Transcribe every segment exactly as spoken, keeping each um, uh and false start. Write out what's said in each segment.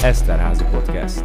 Eszterházy Podcast.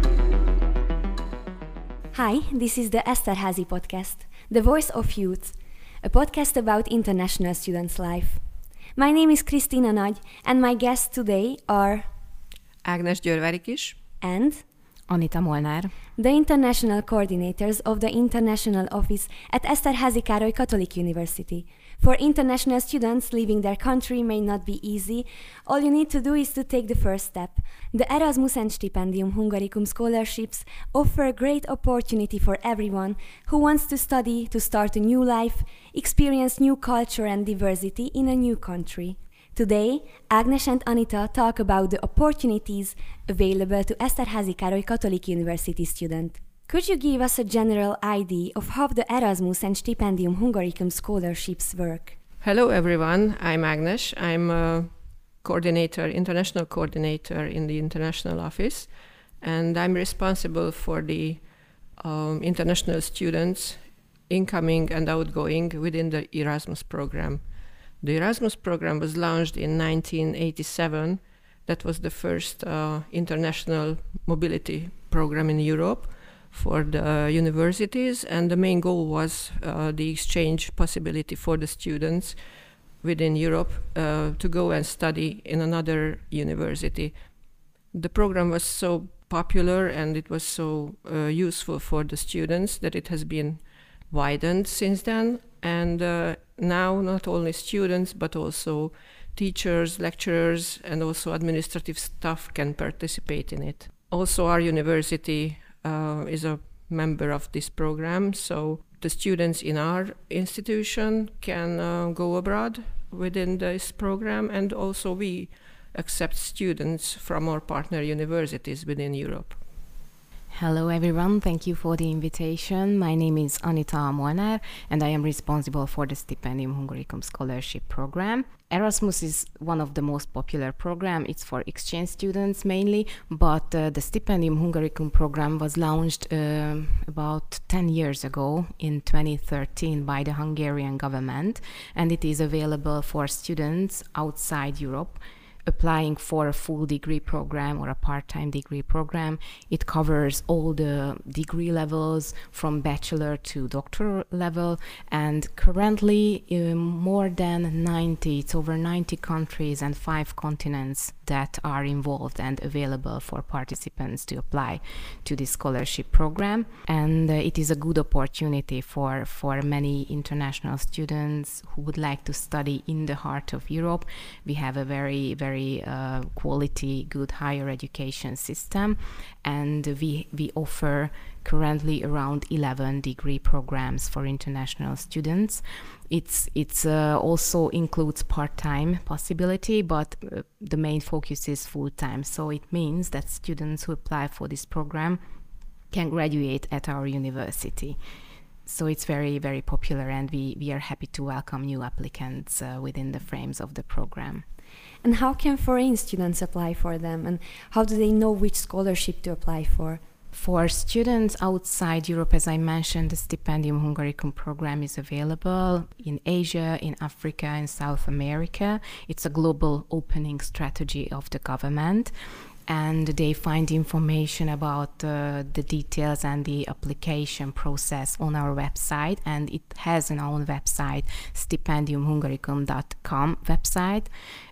Hi, this is the Eszterházy Podcast, the voice of youth, a podcast about international students' life. My name is Krisztina Nagy, and my guests today are Ágnes Győrvári-Kis and Anita Molnár, the international coordinators of the International Office at Eszterházy Károly Catholic University. For international students, leaving their country may not be easy. All you need to do is to take the first step. The Erasmus and Stipendium Hungaricum scholarships offer a great opportunity for everyone who wants to study, to start a new life, experience new culture and diversity in a new country. Today, Ágnes and Anita talk about the opportunities available to Eszterházy Károly Catholic University student. Could you give us a general idea of how the Erasmus and Stipendium Hungaricum scholarships work? Hello everyone, I'm Ágnes. I'm a coordinator, international coordinator in the international office, and I'm responsible for the um, international students incoming and outgoing within the Erasmus program. The Erasmus program was launched in nineteen eighty-seven. That was the first uh, international mobility program in Europe for the universities, and the main goal was uh, the exchange possibility for the students within Europe uh, to go and study in another university. The program was so popular and it was so uh, useful for the students that it has been widened since then, and uh, now not only students but also teachers, lecturers, and also administrative staff can participate in it. Also, our university uh, is a member of this program, so the students in our institution can uh, go abroad within this program, and also we accept students from our partner universities within Europe. Hello everyone, thank you for the invitation. My name is Anita Molnár and I am responsible for the Stipendium Hungaricum scholarship program. Erasmus is one of the most popular program. It's for exchange students mainly, but uh, the Stipendium Hungaricum program was launched uh, about ten years ago in twenty thirteen by the Hungarian government, and it is available for students outside Europe applying for a full degree program or a part-time degree program. It covers all the degree levels from bachelor to doctoral level, and currently um, more than ninety, it's over ninety countries and five continents that are involved and available for participants to apply to this scholarship program. And uh, it is a good opportunity for, for many international students who would like to study in the heart of Europe. We have a very, very very uh, quality, good higher education system, and we we offer currently around eleven degree programs for international students. It's it's uh, also includes part-time possibility, but uh, the main focus is full-time. So it means that students who apply for this program can graduate at our university. So it's very, very popular, and we, we are happy to welcome new applicants uh, within the frames of the program. And how can foreign students apply for them, and how do they know which scholarship to apply for? For students outside Europe, as I mentioned, the Stipendium Hungaricum program is available in Asia, in Africa, in South America. It's a global opening strategy of the government, and they find information about uh, the details and the application process on our website, and it has an own website, stipendium hungaricum dot com website.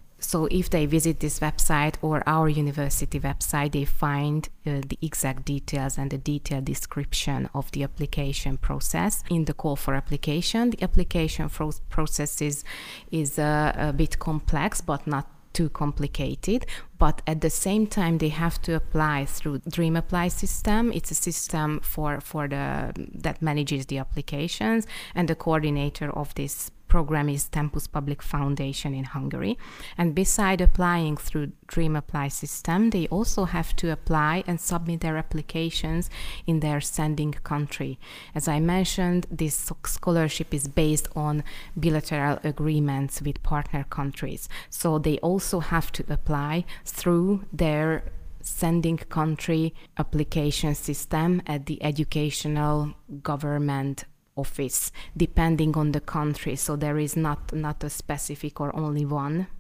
So if they visit this website or our university website, they find uh, the exact details and the detailed description of the application process. In the call for application, the application fro- process is, is uh, a bit complex, but not too complicated. But at the same time, they have to apply through Dream Apply system. It's a system for, for the that manages the applications, and the coordinator of this program is Tempus Public Foundation in Hungary. And beside applying through Dream Apply system, they also have to apply and submit their applications in their sending country. As I mentioned, this scholarship is based on bilateral agreements with partner countries. So they also have to apply through their sending country application system at the educational government office, depending on the country. So there is not, not a specific or only one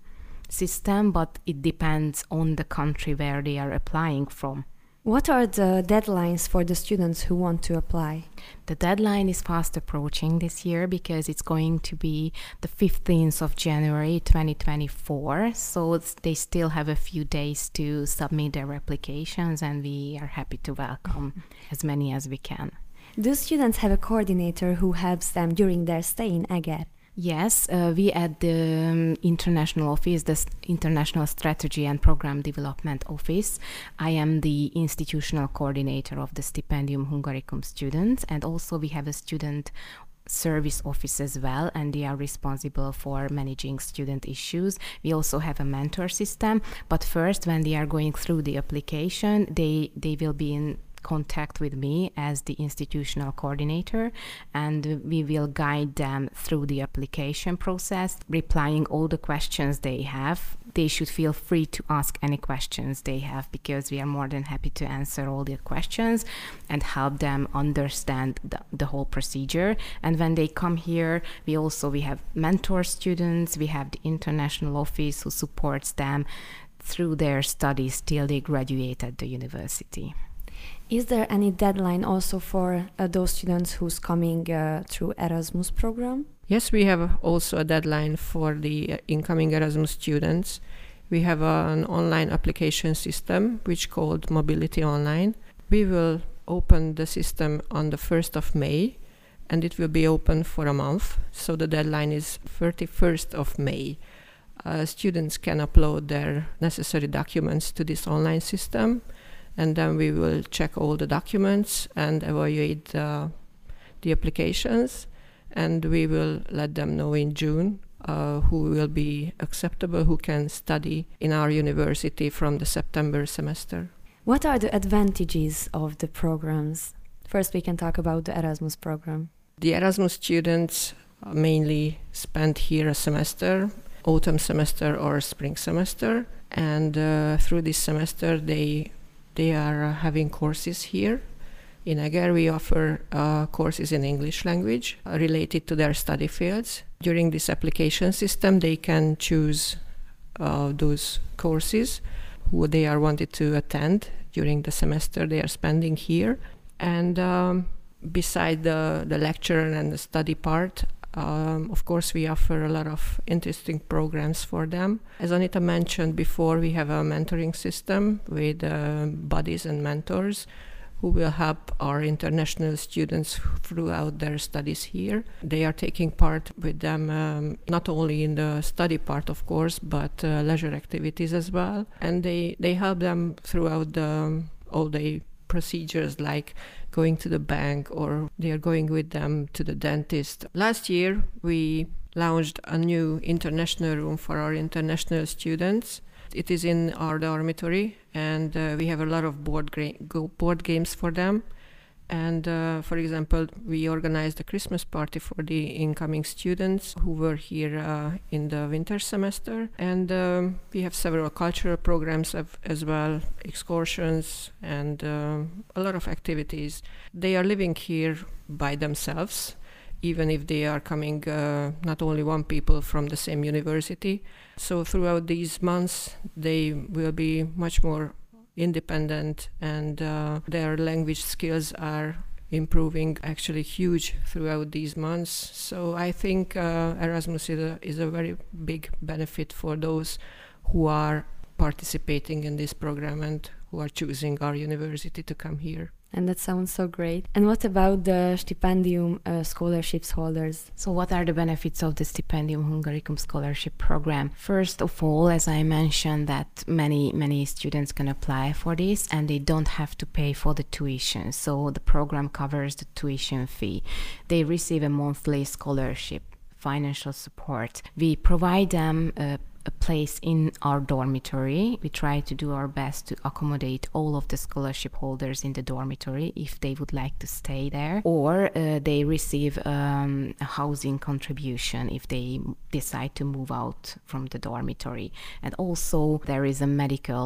system, but it depends on the country where they are applying from. What are the deadlines for the students who want to apply? The deadline is fast approaching this year because it's going to be the fifteenth of January twenty twenty-four. So it's, they still have a few days to submit their applications, and we are happy to welcome as many as we can. Do students have a coordinator who helps them during their stay in Eger? Yes, uh, we at the um, International Office, the S- International Strategy and Program Development Office, I am the institutional coordinator of the Stipendium Hungaricum students, and also we have a student service office as well, and they are responsible for managing student issues. We also have a mentor system, but first when they are going through the application, they, they will be in contact with me as the institutional coordinator, and we will guide them through the application process, replying all the questions they have. They should feel free to ask any questions they have, because we are more than happy to answer all their questions and help them understand the, the whole procedure. And when they come here, we also we have mentor students, we have the international office who supports them through their studies till they graduate at the university. Is there any deadline also for uh, those students who's coming uh, through Erasmus program? Yes, we have also a deadline for the uh, incoming Erasmus students. We have uh, an online application system which called Mobility Online. We will open the system on the first of May, and it will be open for a month. So the deadline is thirty-first of May. Uh, students can upload their necessary documents to this online system, and then we will check all the documents and evaluate uh, the applications, and we will let them know in June uh, who will be acceptable, who can study in our university from the September semester. What are the advantages of the programs? First, we can talk about the Erasmus program. The Erasmus students mainly spend here a semester, autumn semester or spring semester, and uh, through this semester they They are uh, having courses here. In Eger, we offer uh, courses in English language uh, related to their study fields. During this application system, they can choose uh, those courses who they are wanted to attend during the semester they are spending here. And um, beside the, the lecture and the study part, Um, of course, we offer a lot of interesting programs for them. As Anita mentioned before, we have a mentoring system with uh, buddies and mentors who will help our international students throughout their studies here. They are taking part with them um, not only in the study part, of course, but uh, leisure activities as well. And they, they help them throughout the all-day procedures, like going to the bank, or they are going with them to the dentist. Last year, we launched a new international room for our international students. It is in our dormitory, and uh, we have a lot of board, gra- go board games for them. And uh, for example, we organized a Christmas party for the incoming students who were here uh, in the winter semester. And um, we have several cultural programs of, as well, excursions, and uh, a lot of activities. They are living here by themselves, even if they are coming uh, not only one people from the same university. So throughout these months, they will be much more independent, and uh, their language skills are improving actually huge throughout these months. So I think uh, Erasmus is a, is a very big benefit for those who are participating in this program and who are choosing our university to come here. And that sounds so great. And what about the Stipendium uh, scholarships holders? So what are the benefits of the Stipendium Hungaricum scholarship program? First of all, as I mentioned, that many, many students can apply for this, and they don't have to pay for the tuition. So the program covers the tuition fee. They receive a monthly scholarship, financial support. We provide them a a place in our dormitory. We try to do our best to accommodate all of the scholarship holders in the dormitory if they would like to stay there, or uh, they receive um, a housing contribution if they decide to move out from the dormitory. And also there is a medical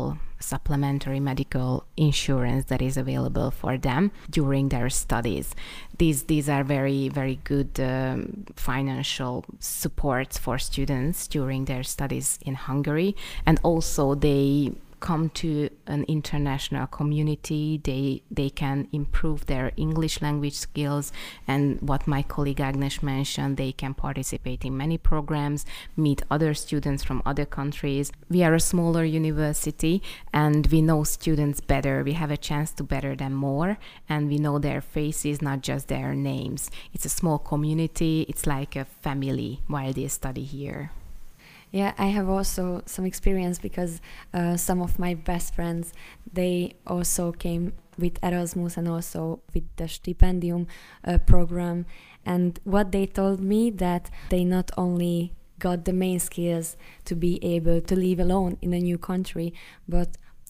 supplementary medical insurance that is available for them during their studies. These these are very, very good um, financial supports for students during their studies in Hungary. And also they come to an international community, they they can improve their English language skills, and what my colleague Agnes mentioned, they can participate in many programs, meet other students from other countries. We are a smaller university and we know students better. We have a chance to better them more, and we know their faces, not just their names. It's a small community, it's like a family while they study here. Yeah, I have also some experience because uh, some of my best friends, they also came with Erasmus and also with the Stipendium uh, program. And what they told me, that they not only got the main skills to be able to live alone in a new country, but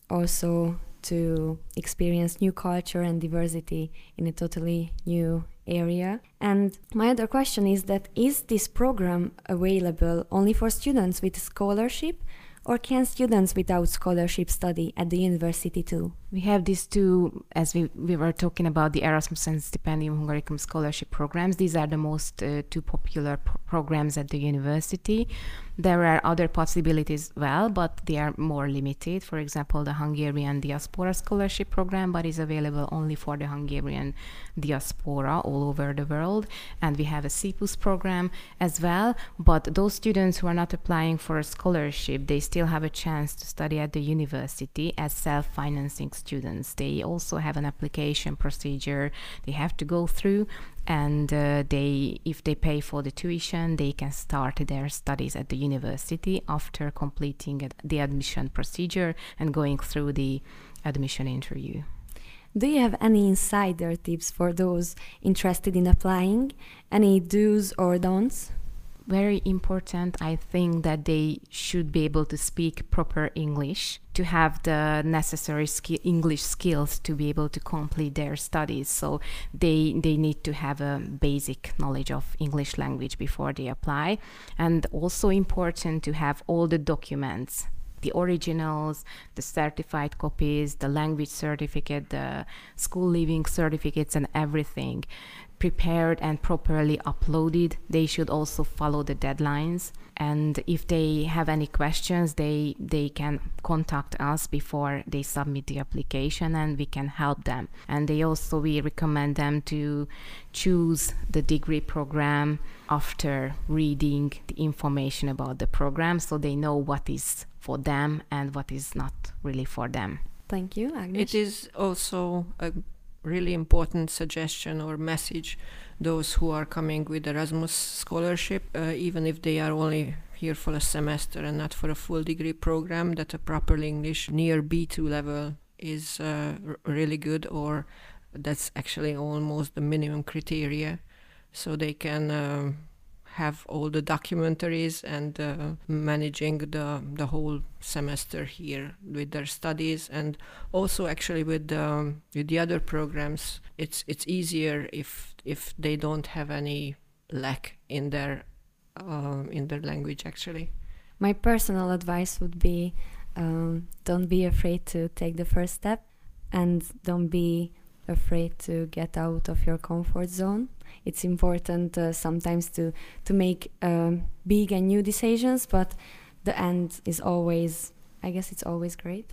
also to experience new culture and diversity in a totally new area. And my other question is that, is this program available only for students with scholarship, or can students without scholarship study at the university too? We have these two, as we, we were talking about the Erasmus and Stipendium Hungaricum scholarship programs. These are the most uh, two popular pro- programs at the university. There are other possibilities as well, but they are more limited. For example, the Hungarian Diaspora Scholarship Program, but is available only for the Hungarian diaspora all over the world. And we have a C P U S program as well, but those students who are not applying for a scholarship, they still have a chance to study at the university as self-financing students. They also have an application procedure they have to go through, and uh, they, if they pay for the tuition, they can start their studies at the university after completing the admission procedure and going through the admission interview. Do you have any insider tips for those interested in applying? Any do's or don'ts? Very important, I think, that they should be able to speak proper English, to have the necessary ski- English skills to be able to complete their studies. So they they need to have a basic knowledge of English language before they apply. And also important to have all the documents, the originals, the certified copies, the language certificate, the school leaving certificates, and everything prepared and properly uploaded. They should also follow the deadlines. And if they have any questions, they they can contact us before they submit the application, and we can help them. And they also, we recommend them to choose the degree program after reading the information about the program, so they know what is for them and what is not really for them. Thank you, Agnes. It is also a really important suggestion or message, those who are coming with Erasmus scholarship, uh, even if they are only here for a semester and not for a full degree program, that a proper English near B two level is uh, r- really good, or that's actually almost the minimum criteria, so they can uh, have all the documentaries and uh, managing the the whole semester here with their studies. And also actually with the with the other programs, it's it's easier if if they don't have any lack in their uh, in their language actually. My personal advice would be, um, don't be afraid to take the first step, and don't be afraid to get out of your comfort zone. It's important uh, sometimes to to make um, big and new decisions, but the end is always, I guess it's always great.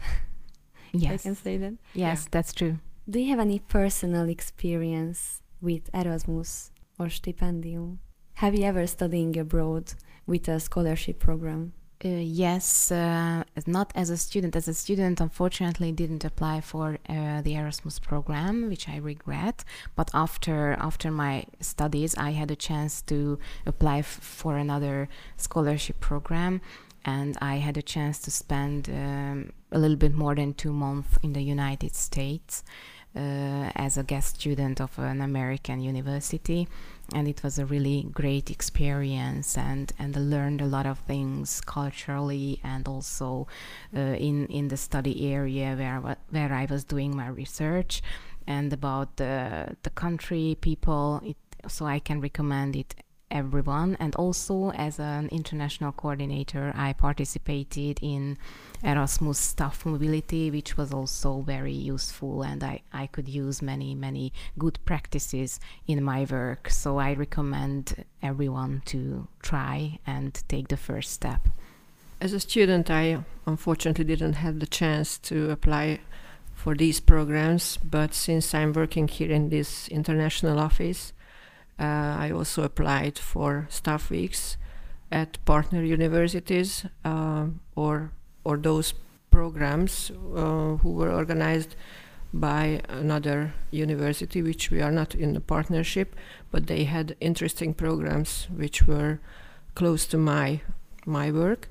Yes. I can say that. Yes, Yeah. that's true. Do you have any personal experience with Erasmus or Stipendium? Have you ever studying abroad with a scholarship program? Uh, yes, uh, not as a student. As a student, unfortunately, didn't apply for uh, the Erasmus program, which I regret. But after after my studies, I had a chance to apply f- for another scholarship program, and I had a chance to spend um, a little bit more than two months in the United States uh, as a guest student of an American university. And it was a really great experience, and, and I learned a lot of things culturally, and also uh, in, in the study area where, I wa- where I was doing my research, and about the, the country, people. It, so I can recommend it everyone. And also, as an international coordinator, I participated in Erasmus staff mobility, which was also very useful, and I, I could use many, many good practices in my work. So I recommend everyone to try and take the first step. As a student, I unfortunately didn't have the chance to apply for these programs, but since I'm working here in this international office, uh, I also applied for staff weeks at partner universities uh, or or those programs uh, who were organized by another university, which we are not in the partnership, but they had interesting programs which were close to my my work.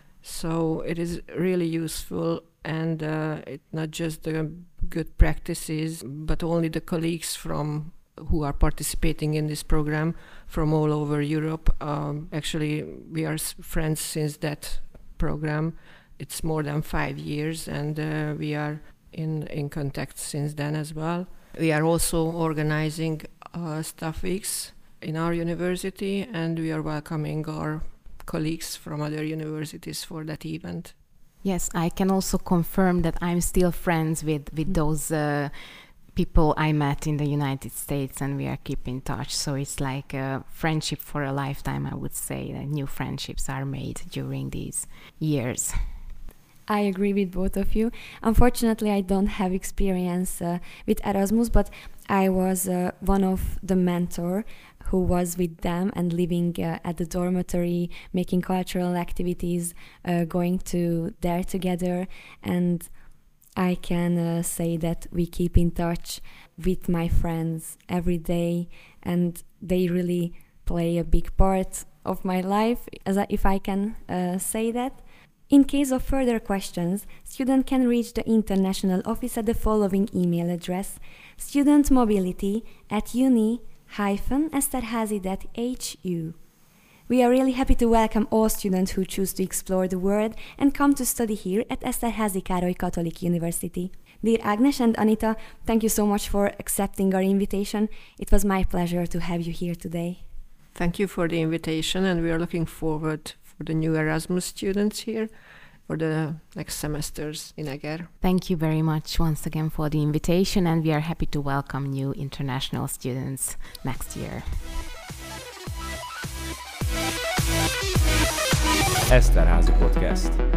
So it is really useful, and uh, it's not just the good practices, but only the colleagues from who are participating in this program from all over Europe. Um, actually, we are s- friends since that program. It's more than five years, and uh, we are in, in contact since then as well. We are also organizing uh, staff weeks in our university, and we are welcoming our colleagues from other universities for that event. Yes, I can also confirm that I'm still friends with, with those uh, people I met in the United States, and we are keeping in touch. So it's like a friendship for a lifetime, I would say. That new friendships are made during these years. I agree with both of you. Unfortunately, I don't have experience uh, with Erasmus, but I was uh, one of the mentor who was with them and living uh, at the dormitory, making cultural activities, uh, going to there together. And I can uh, say that we keep in touch with my friends every day, and they really play a big part of my life, as I, if I can uh, say that. In case of further questions, student can reach the international office at the following email address: studentmobility at uni dash esterhazy dot h u. We are really happy to welcome all students who choose to explore the world and come to study here at Esterházy Károly Catholic University. Dear Agnes and Anita, thank you so much for accepting our invitation. It was my pleasure to have you here today. Thank you for the invitation, and we are looking forward for the new Erasmus students here for the next semesters in Eger. Thank you very much once again for the invitation, and we are happy to welcome new international students next year. Esterházy Podcast.